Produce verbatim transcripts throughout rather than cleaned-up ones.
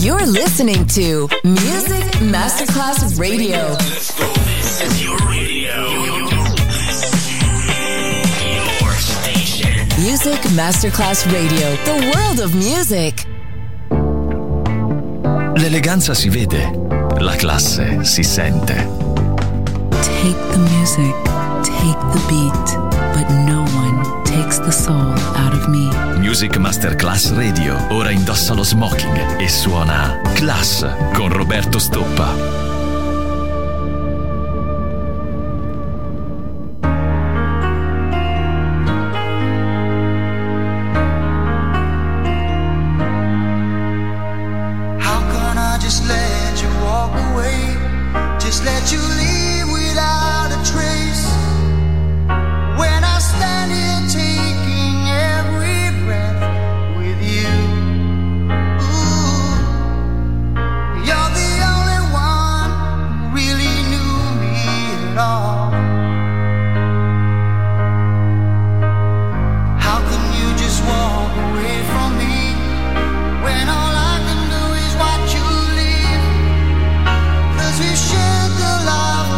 You're listening to Music Masterclass Radio. Let's go. This is your radio. Your station. Music Masterclass Radio. The world of music. L'eleganza si vede, la classe si sente. Take the music, take the beat, but no one takes the soul out of me. Music Masterclass Radio. Ora indossa lo smoking e suona Class con Roberto Stoppa. We've shared the love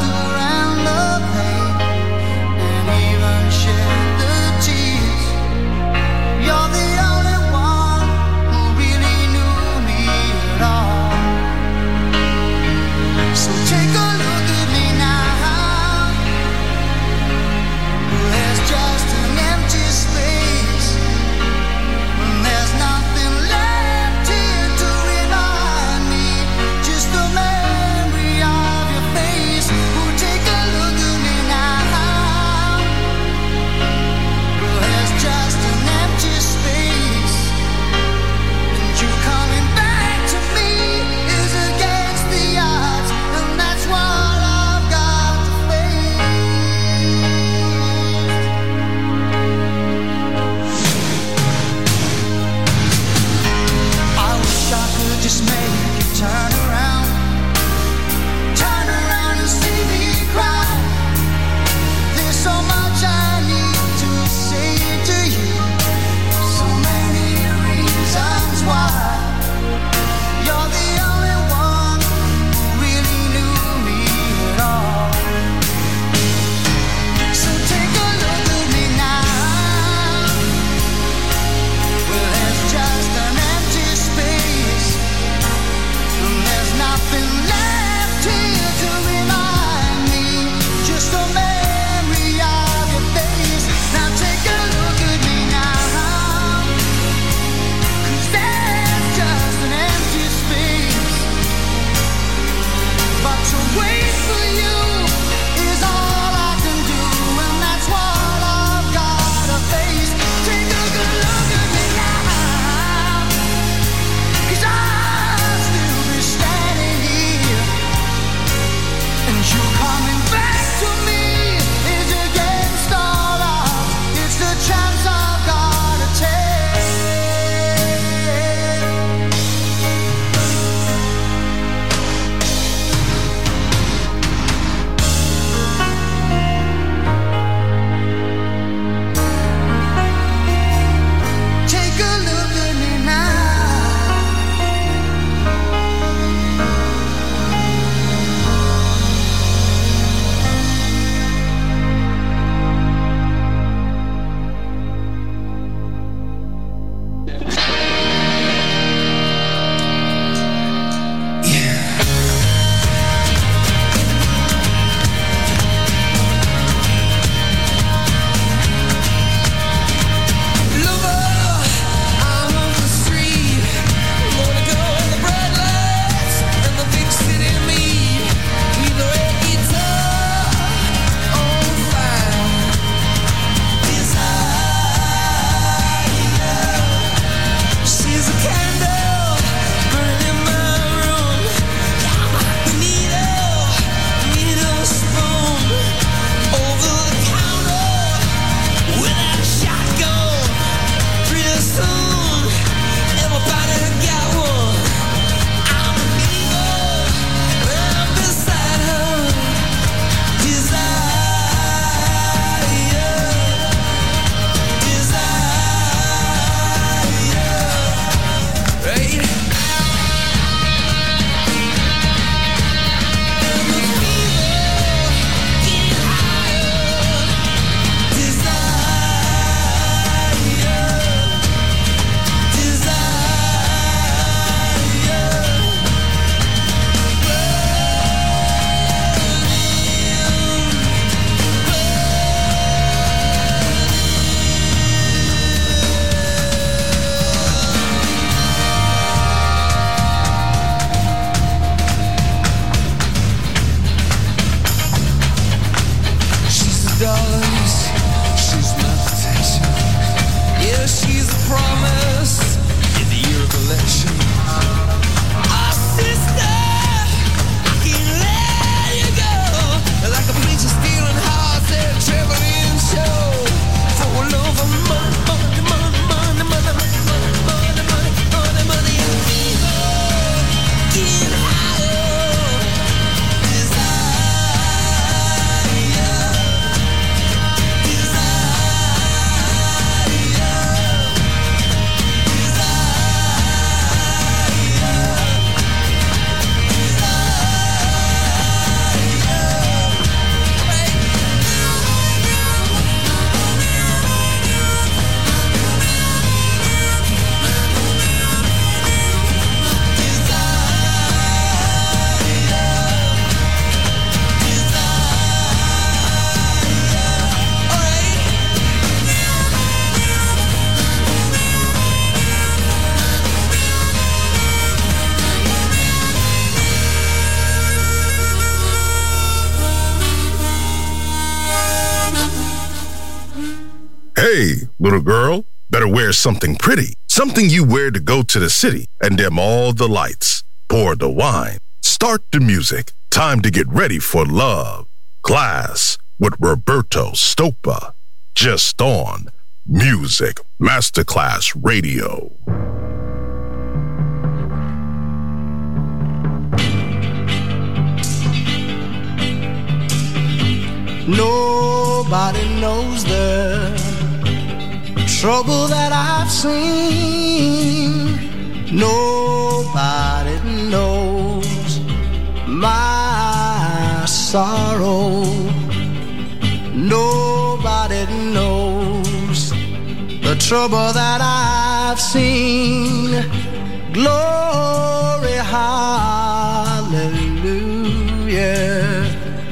Little girl, better wear something pretty, something you wear to go to the city and dim all the lights. Pour the wine, start the music. Time to get ready for love. Class with Roberto Stoppa. Just on Music Masterclass Radio. Nobody knows the trouble that I've seen. Nobody knows my sorrow. Nobody knows the trouble that I've seen. Glory, hallelujah.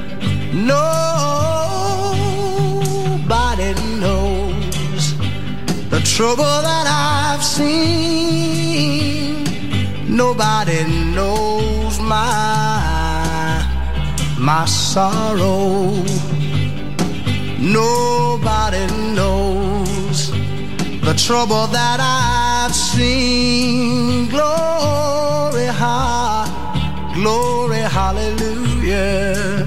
Nobody knows the trouble that I've seen. Nobody knows my, my sorrow. Nobody knows the trouble that I've seen. Glory, ha, glory, hallelujah.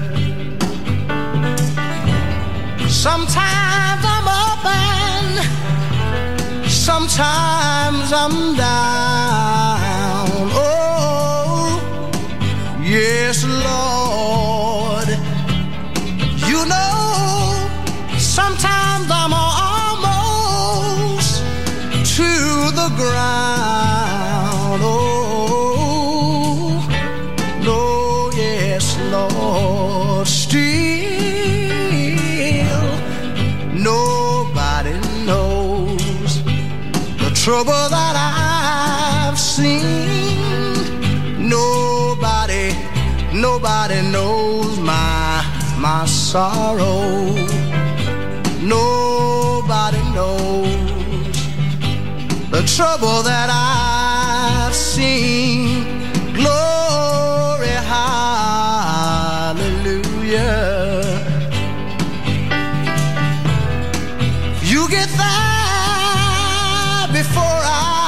Sometimes I'm up and sometimes I'm down. Oh, yes, Lord. You know, sometimes I'm almost to the ground. Oh, no, yes, Lord. Still, nobody knows the trouble that I've seen. Nobody, nobody knows my, my sorrow. Nobody knows the trouble that I've seen. Glory, hallelujah. You get there before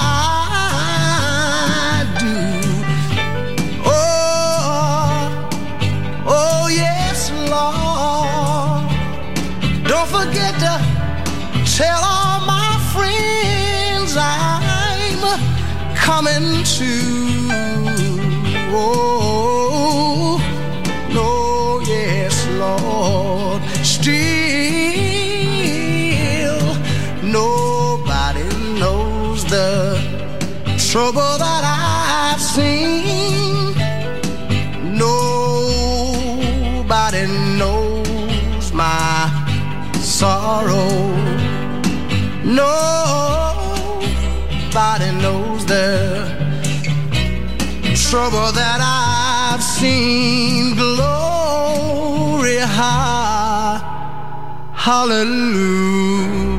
I do. Oh, oh yes, Lord. Don't forget to tell all my friends I'm coming to. Oh, no, yes, Lord. Still, nobody knows the trouble that I've seen. Nobody knows my sorrow. Nobody knows the trouble that I've seen. Glory, ha, hallelujah.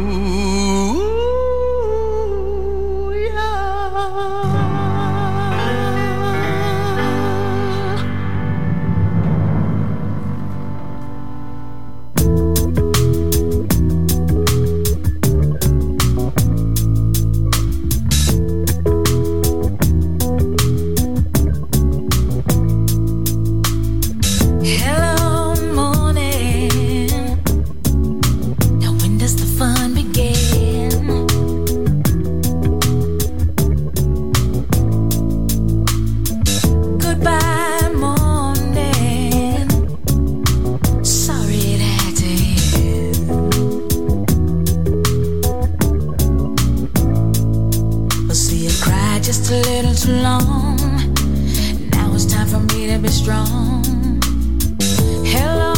Hello, morning. Now when does the fun begin? Goodbye, morning. Sorry it had to end. Well, see, I cried just a little too long. Now it's time for me to be strong. Hello,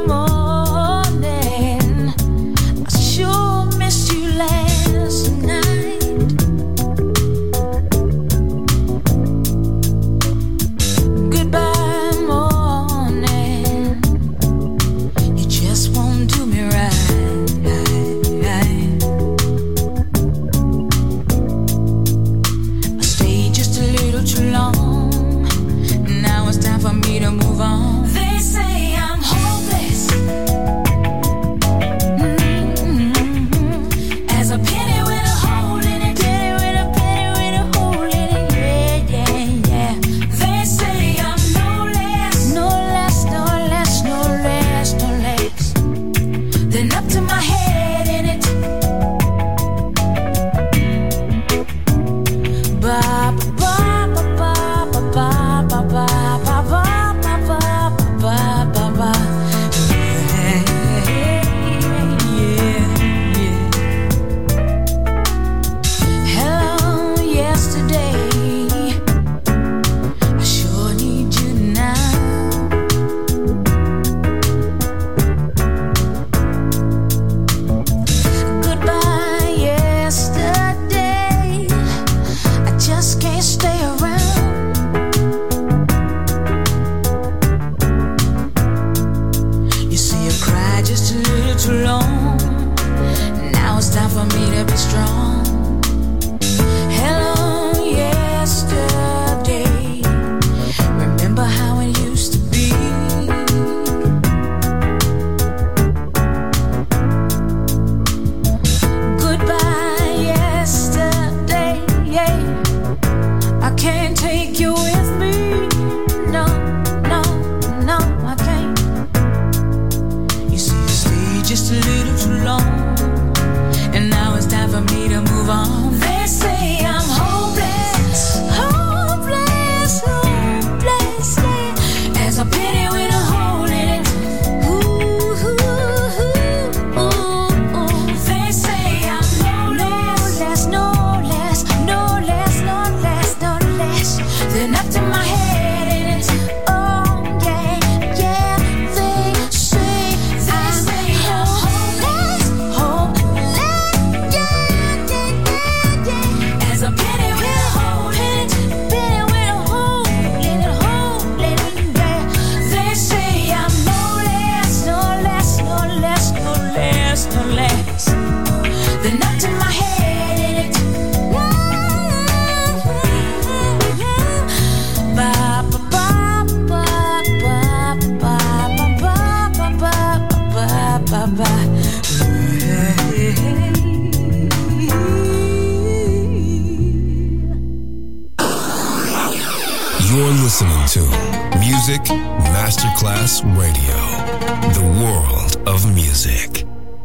morning. I sure missed you last night. Goodbye, morning. You just won't do me right. I stayed just a little too long. Now it's time for me to move on. They say I'm hopeless. You're listening to Music Masterclass Radio, the world of music.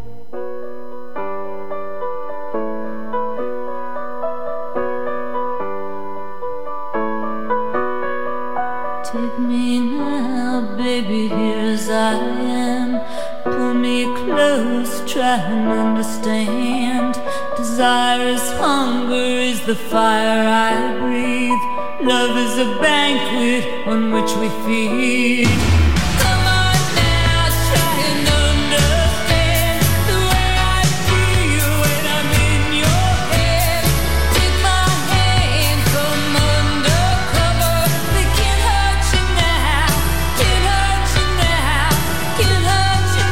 Take me now, baby, here as I am. Pull me close, try and understand. Desire is hunger, is the fire I breathe. Love is a banquet on which we feed. Come on now, try and understand the way I feel when I'm in your head. Take my hand, come undercover. They can't hurt you now, can't hurt you now, can't hurt you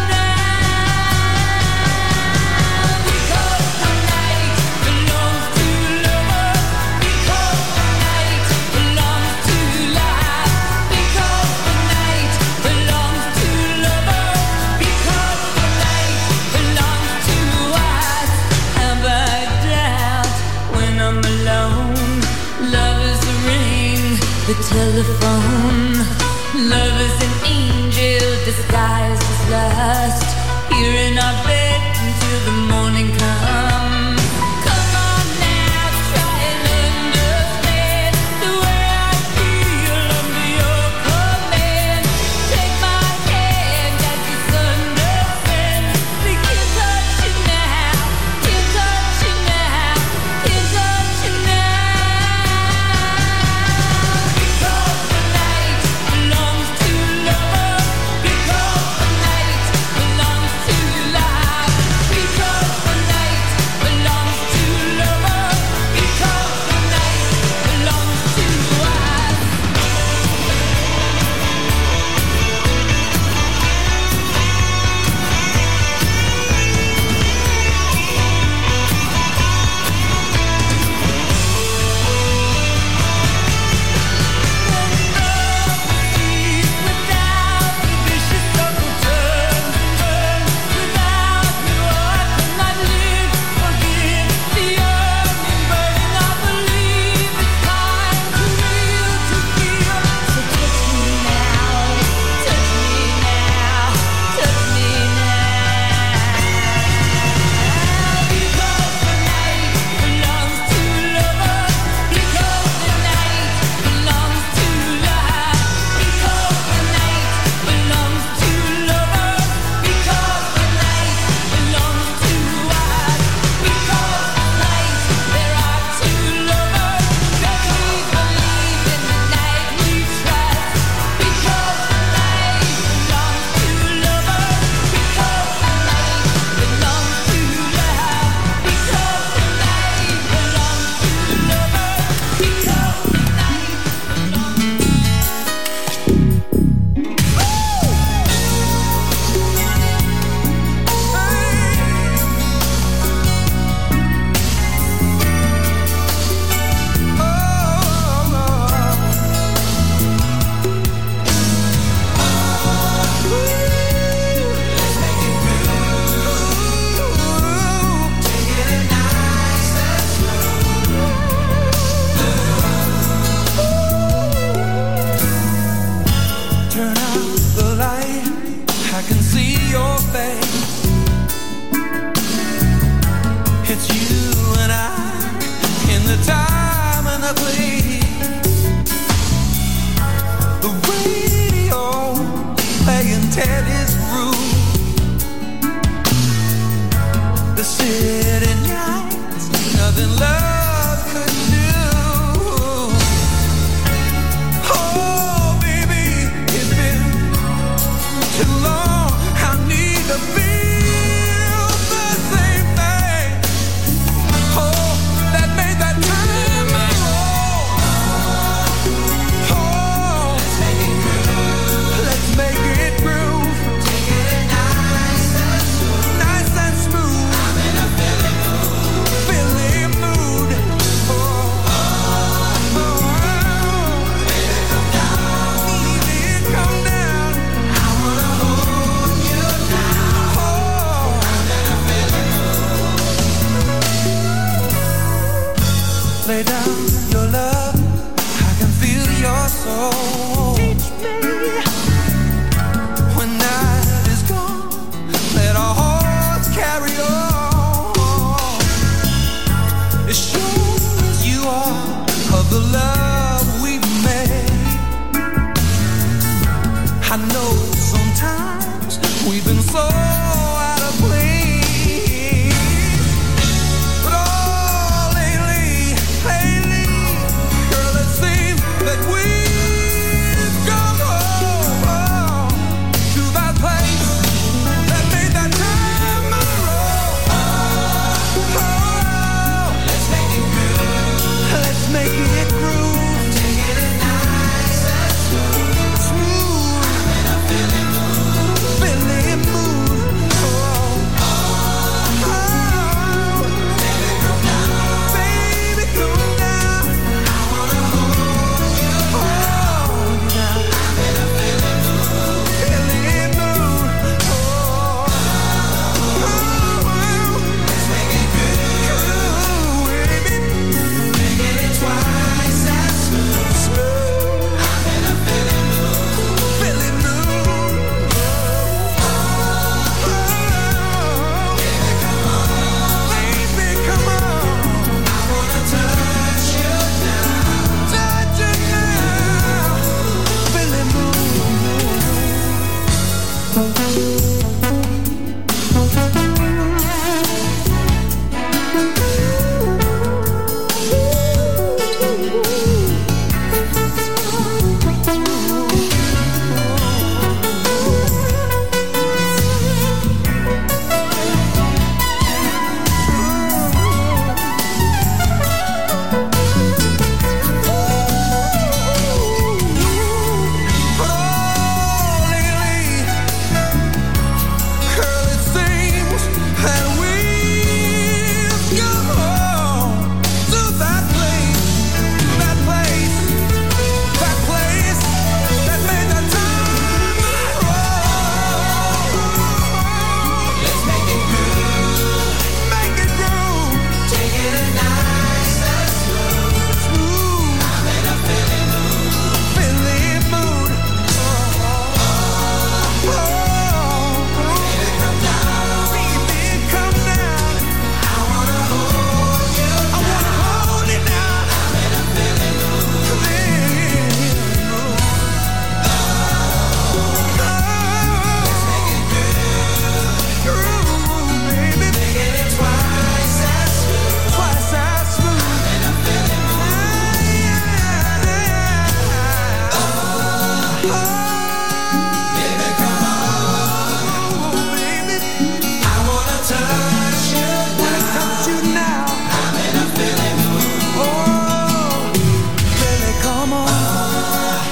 now. Because the night belongs to lovers. Because the night belongs to life. Because the night belongs to lovers. Because the night belongs to us. Have I doubt when I'm alone? Love is the ring, the telephone. Love is an angel disguised as lust. Here in our bed until the morning comes. Come on now, try and understand the way I feel under your command. Take my hand as the sun descends. They can't touch you now, can't touch you now, can't touch you now. Because the night belongs to lovers. Because the night belongs to life. Because the night belongs to lovers. Because the night belongs to us. Without the vicious circle turns and burns. Without you I could not live. Forgive the yearning burning. I believe it's time to real to feel. So touch me now, touch me now, touch me now. Because the night belongs to lovers. Because the night belongs to life. Because the night belongs to lovers. Because the night belongs to us. Because tonight there are two lovers. That we believe in the night we trust. Because the night belongs to lovers. Because the night belongs to love. Because the night belongs to lovers. Because the night Turn out the light, I can see your face. It's you and I in the time and the place. The radio playing Teddy's Groove. The city nights, nothing love could do. Oh, baby, it's been too long. I need to feel the same thing. Oh, that made that time go. Oh,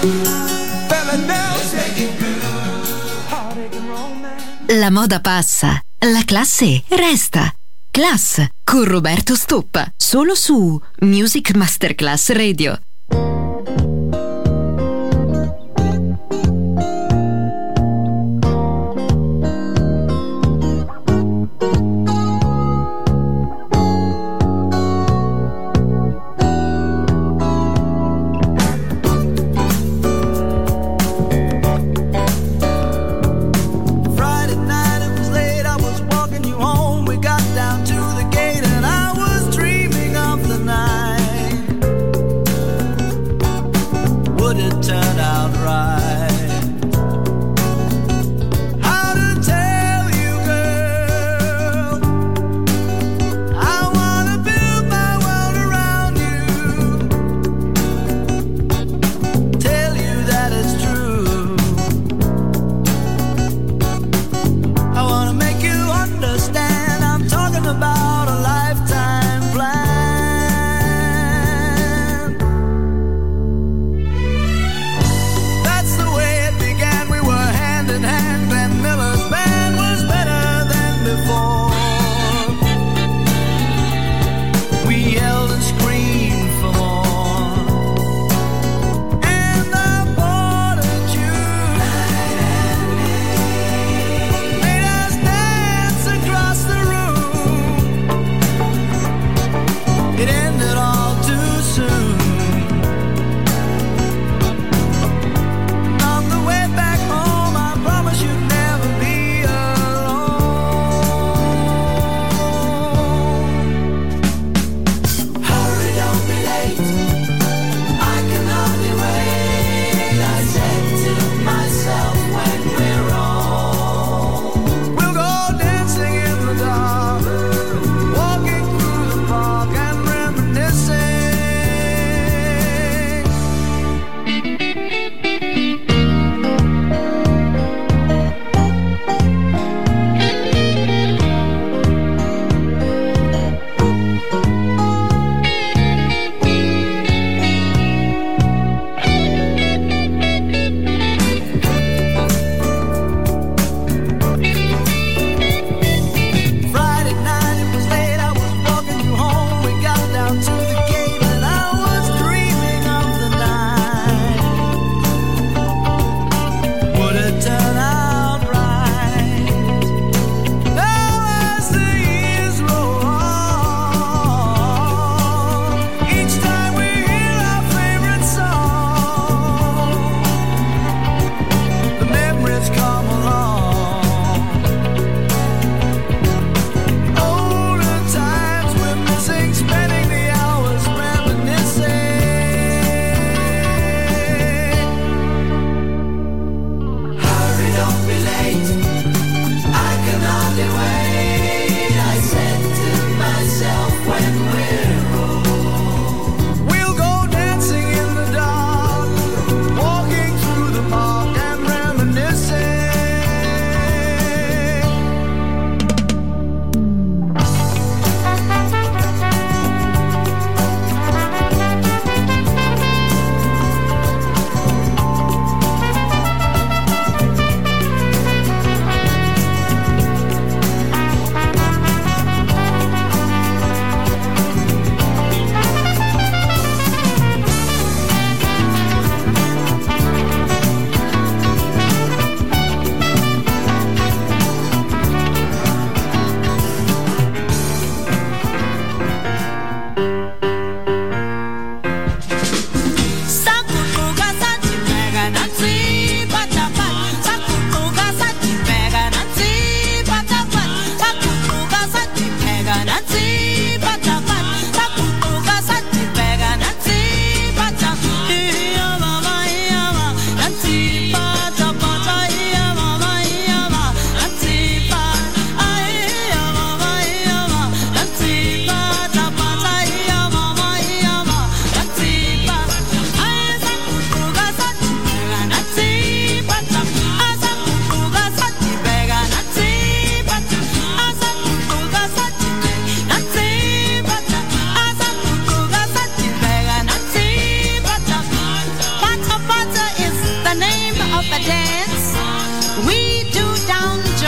La moda passa, la classe resta. Class con Roberto Stoppa, solo su Music Masterclass Radio.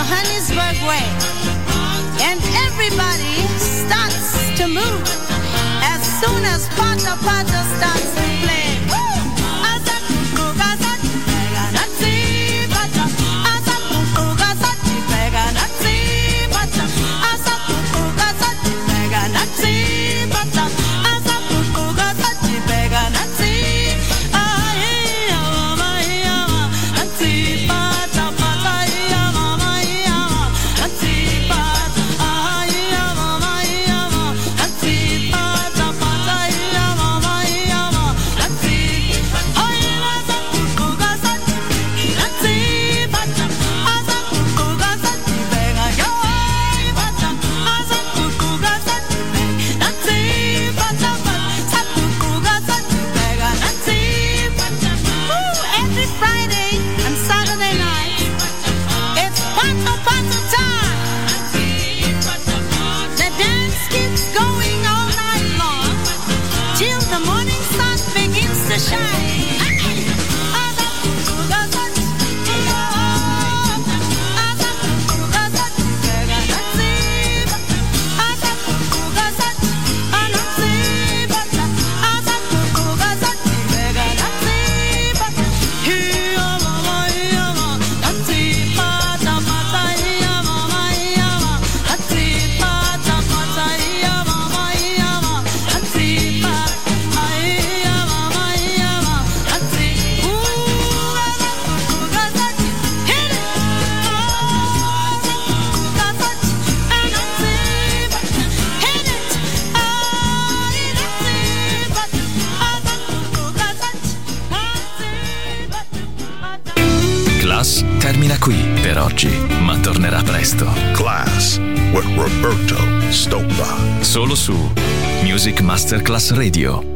Johannesburg way. And everybody starts to move as soon as Pata Pata starts to play. Termina qui per oggi, ma tornerà presto. Class with Roberto Stoppa. Solo su Music Masterclass Radio.